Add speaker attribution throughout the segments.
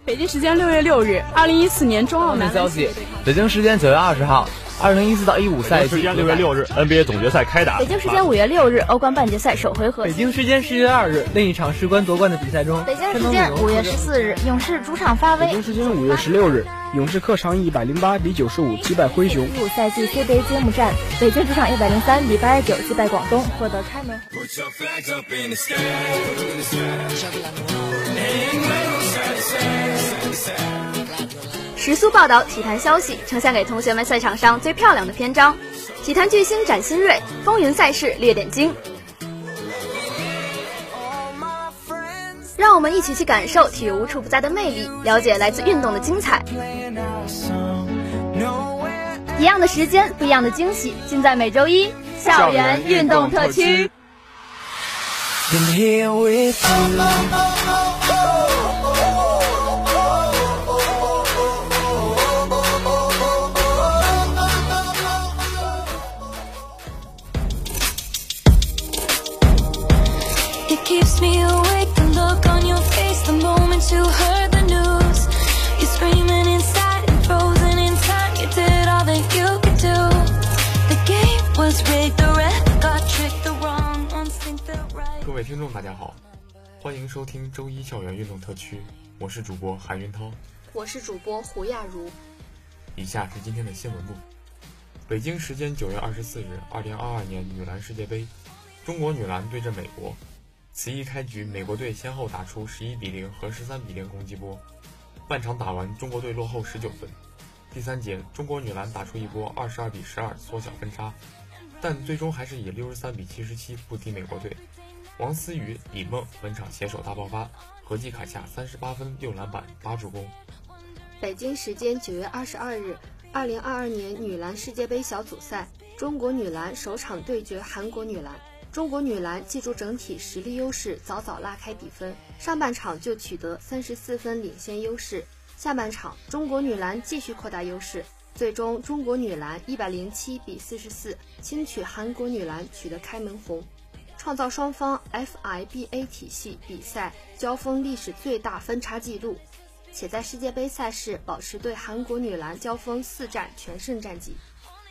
Speaker 1: 北京时间6月6日，2014年中澳男
Speaker 2: 消息，北京时间9月20号，2014到15赛季。
Speaker 3: 北京时间6月6日 ，NBA 总决赛开打。
Speaker 4: 北京时间5月6日，欧冠半决赛首回合。
Speaker 2: 北京时间10月2日，另一场事关夺冠的比赛中，
Speaker 4: 北京时间5月14日，勇士主场发威。
Speaker 5: 北京时间5月16日，勇士客场108比95击败灰熊。
Speaker 4: 15赛季 CBA 揭幕战，北京主场103比89击败广东，获得开门。
Speaker 6: 时速报道体坛消息，呈现给同学们赛场上最漂亮的篇章。体坛巨星展新锐，风云赛事列点睛。让我们一起去感受体育无处不在的魅力，了解来自运动的精彩。一样的时间，不一样的惊喜，尽在每周一校园运动特区。
Speaker 7: Keeps me awake, the look on your face, the moment you heard the news. You're screaming inside and frozen in time. You did all that you could do. The game was rigged, the ref got tricked, the wrong instinct felt right.
Speaker 8: 各位听众大家好，欢迎收听周一校园运动特区，我是主播韩云涛，
Speaker 6: 我是主播胡亚茹。
Speaker 8: 以下是今天的新闻部。北京时间9月24日，2022年女篮世界杯，中国女篮对阵美国。此役开局，美国队先后打出11比0和13比0攻击波，半场打完，中国队落后19分。第三节，中国女篮打出一波22比12缩小分差，但最终还是以63比77不敌美国队。王思雨、李梦本场携手大爆发，合计砍下38分、6篮板、8助攻。
Speaker 6: 北京时间9月22日，2022年女篮世界杯小组赛，中国女篮首场对决韩国女篮。中国女篮借助整体实力优势，早早拉开比分，上半场就取得34分领先优势。下半场，中国女篮继续扩大优势，最终中国女篮107比44轻取韩国女篮，取得开门红，创造双方 FIBA 体系比赛交锋历史最大分差纪录，且在世界杯赛事保持对韩国女篮交锋4战全胜战绩。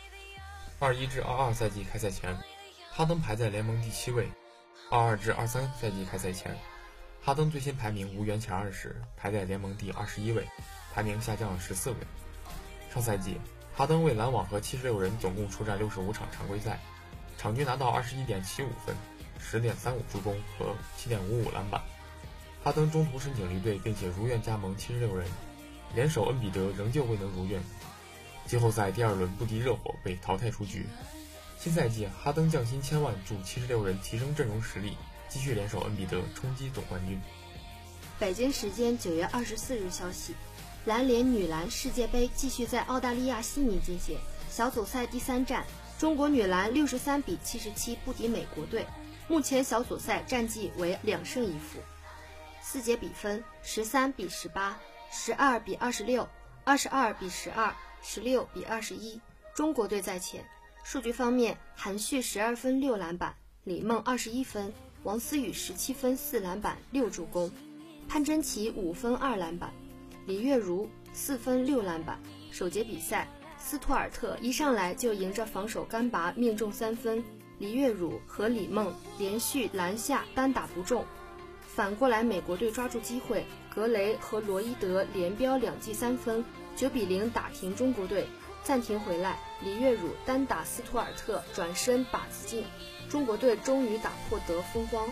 Speaker 8: 21至22赛季开赛前，哈登排在联盟第7位；22至23赛季开赛前，哈登最新排名无缘前20，排在联盟第21位，排名下降了14位。上赛季，哈登为篮网和76人总共出战65场常规赛，场均拿到21.75分、10.35助攻和7.55篮板。哈登中途申请离队，并且如愿加盟76人，联手恩比德仍旧未能如愿。季后赛第2轮不敌热火，被淘汰出局。新赛季，哈登降薪千万，助76人提升阵容实力，继续联手恩比德冲击总冠军。
Speaker 6: 北京时间9月24日消息，篮联女篮世界杯继续在澳大利亚悉尼进行，小组赛第3战，中国女篮63比77不敌美国队，目前小组赛战绩为2胜1负。4节比分13比18、12比26、22比12、16比21，中国队在前。数据方面，韩旭12分6篮板，李梦21分，王思雨17分4篮板6助攻，潘真琪5分2篮板，李月如4分6篮板。首节比赛，斯图尔特一上来就迎着防守干拔命中3分，李月如和李梦连续篮下单打不中。反过来，美国队抓住机会，格雷和罗伊德连飙2记3分，9比0打停中国队。暂停回来，李月汝单打斯图尔特转身靶子进，中国队终于打破得分荒。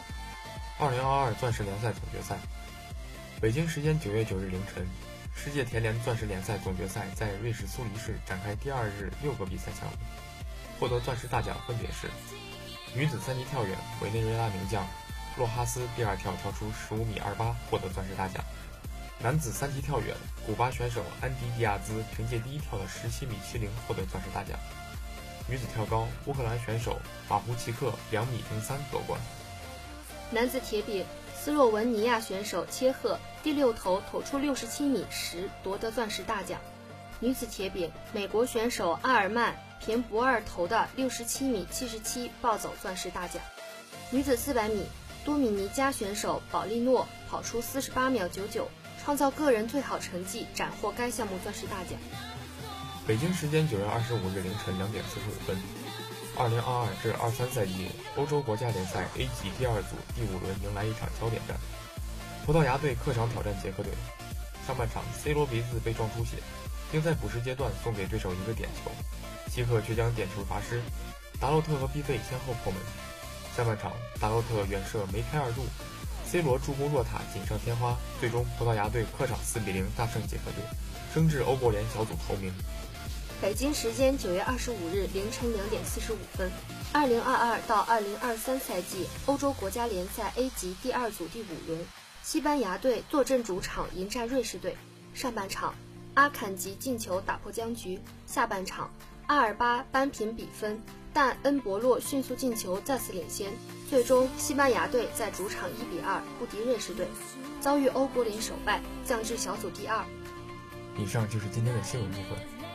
Speaker 8: 2022钻石联赛总决赛，北京时间9月9日凌晨，世界田联钻石联赛总决赛在瑞士苏黎世展开第2日6个比赛项目，获得钻石大奖分别是女子3级跳远，委内瑞拉名将洛哈斯第2跳跳出15米28，获得钻石大奖。男子3级跳远，古巴选手安迪迪亚兹凭借第1跳的17米70获得钻石大奖。女子跳高，乌克兰选手马胡奇克2米03夺冠。
Speaker 6: 男子铁饼，斯洛文尼亚选手切赫第6投投出67米10夺得钻石大奖。女子铁饼，美国选手阿尔曼凭不二投的67米77抱走钻石大奖。女子400米，多米尼加选手保利诺跑出48秒99 创造个人最好成绩，斩获该项目钻石大奖。
Speaker 8: 北京时间9月25日凌晨2点45分，2022至23赛季欧洲国家联赛 A 级第2组第5轮迎来一场焦点战，葡萄牙队客场挑战捷克队。上半场 C 罗鼻子被撞出血，并在补时阶段送给对手一个点球，希克却将点球罚失，达洛特和毕费先后破门。下半场达洛特远射梅开2度，C 罗助攻若塔锦上添花，最终葡萄牙队客场4-0大胜捷克队，升至欧国联小组头名。
Speaker 6: 北京时间9月25日凌晨2点45分，2022到2023赛季欧洲国家联赛 A 级第2组第5轮，西班牙队坐镇主场迎战瑞士队。上半场，阿坎吉进球打破僵局；下半场，阿尔巴扳平比分，但恩博洛迅速进球再次领先。最终，西班牙队在主场1-2不敌瑞士队，遭遇欧国联首败，降至小组第2。
Speaker 8: 以上就是今天的新闻部分。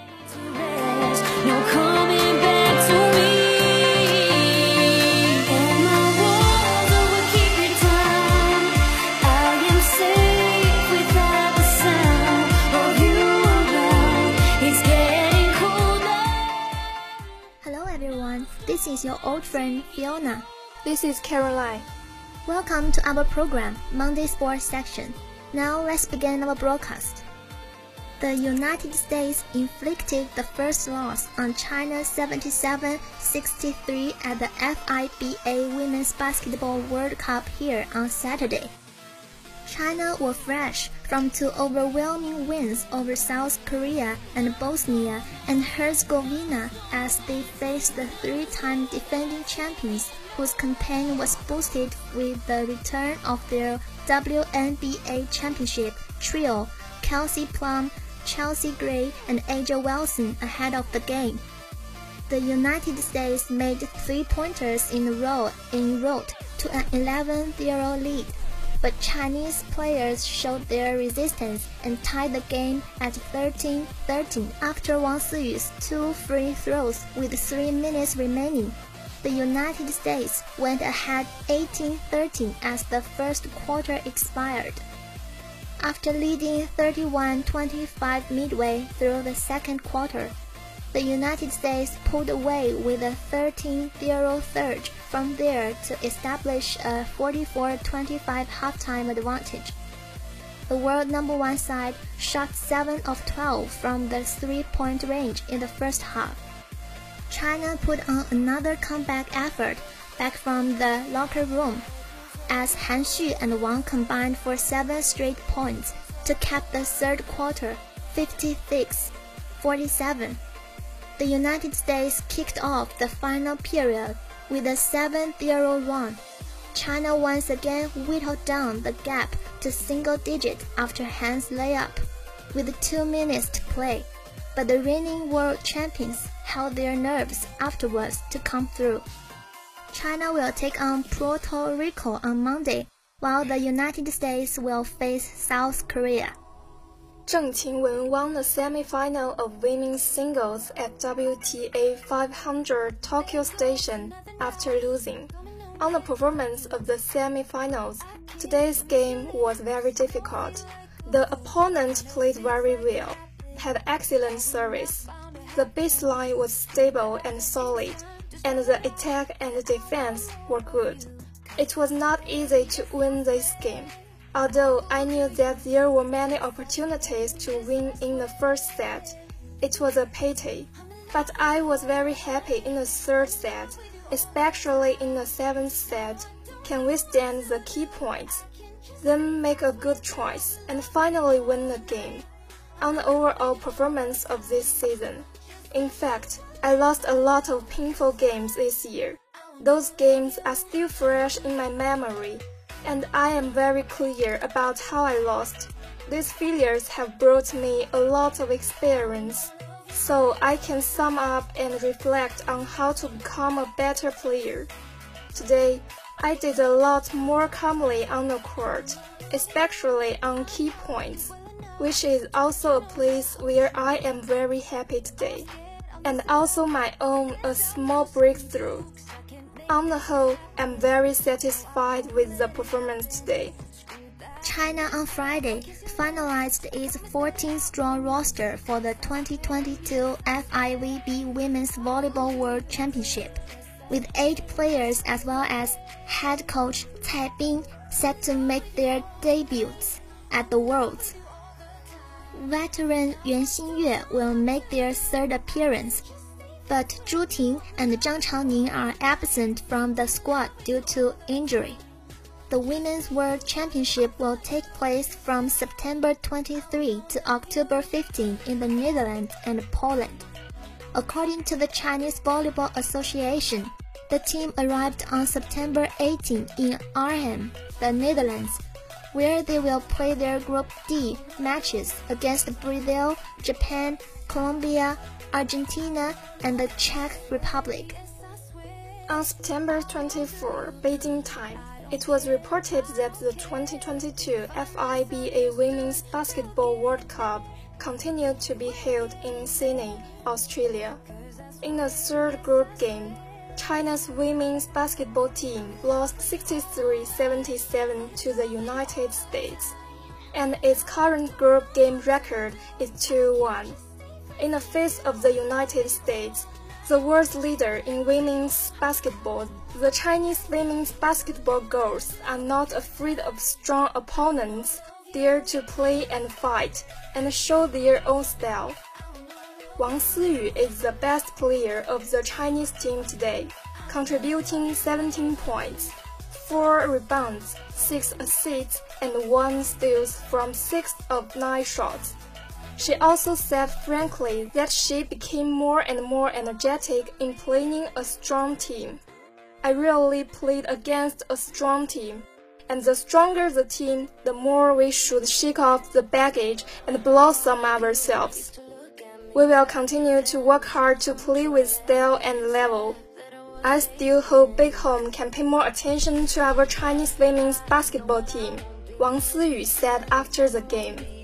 Speaker 9: Hello everyone, this is your old friend Fiona.
Speaker 4: This is Caroline.
Speaker 9: Welcome to our program, Monday Sports Section. Now let's begin our broadcast. The United States inflicted the first loss on China 77-63 at the FIBA Women's Basketball World Cup here on Saturday. China were fresh from 2 overwhelming wins over South Korea and Bosnia and Herzegovina as they faced the 3-time defending champions, whose campaign was boosted with the return of their WNBA championship trio, Kelsey Plum, Chelsea Gray, and A'ja Wilson ahead of the game. The United States made 3-pointers in a row en route to an 11-0 lead, but Chinese players showed their resistance and tied the game at 13-13 after Wang Siyu's 2 free throws with 3 minutes remaining. The United States went ahead 18-13 as the first quarter expired. After leading 31-25 midway through the second quarter, the United States pulled away with a 13-0 surge from there to establish a 44-25 halftime advantage. The world number 1 side shot 7 of 12 from the 3-point range in the first half. China put on another comeback effort back from the locker room, as Han Xu and Wang combined for 7 straight points to cap the third quarter, 56-47. The United States kicked off the final period with a 7-0 run. China once again whittled down the gap to single digit after Han's layup, with 2 minutes to play, but the reigning world champions held their nerves afterwards to come through. China will take on Puerto Rico on Monday, while the United States will face South Korea.
Speaker 4: Zheng Qingwen won the semi-final of women's singles at WTA 500 Tokyo Station after losing. On the performance of the semi-finals, today's game was very difficult. The opponent played very well, had excellent service. The baseline was stable and solid, and the attack and defense were good. It was not easy to win this game, although I knew that there were many opportunities to win in the first set. It was a pity, but I was very happy in the third set, especially in the 7th set, can withstand the key points, then make a good choice, and finally win the game. On the overall performance of this season, in fact, I lost a lot of painful games this year. Those games are still fresh in my memory, and I am very clear about how I lost. These failures have brought me a lot of experience, so I can sum up and reflect on how to become a better player. Today, I did a lot more calmly on the court, especially on key points, which is also a place where I am very happy today, and also my own a small breakthrough. On the whole, I'm very satisfied with the performance today.
Speaker 9: China on Friday finalized its 14-strong roster for the 2022 FIVB Women's Volleyball World Championship, with 8 players as well as head coach Cai Bing set to make their debuts at the Worlds. Veteran Yuan Xingyue will make their 3rd appearance, but Zhu Ting and Zhang Changning are absent from the squad due to injury. The Women's World Championship will take place from September 23 to October 15 in the Netherlands and Poland. According to the Chinese Volleyball Association, the team arrived on September 18 in Arnhem, the Netherlands, where they will play their Group D matches against Brazil, Japan, Colombia, Argentina, and the Czech Republic.
Speaker 4: On September 24, Beijing time, it was reported that the 2022 FIBA Women's Basketball World Cup continued to be held in Sydney, Australia. In the 3rd group game, China's women's basketball team lost 63-77 to the United States, and its current group game record is 2-1. In the face of the United States, the world's leader in women's basketball, the Chinese women's basketball girls are not afraid of strong opponents, dare to play and fight, and show their own style. Wang Siyu is the best player of the Chinese team today, contributing 17 points, 4 rebounds, 6 assists, and 1 steal from 6 of 9 shots. She also said frankly that she became more and more energetic in playing a strong team. I really played against a strong team, and the stronger the team, the more we should shake off the baggage and blossom ourselves. We will continue to work hard to play with style and level. I still hope Big Home can pay more attention to our Chinese women's basketball team, Wang Siyu said after the game.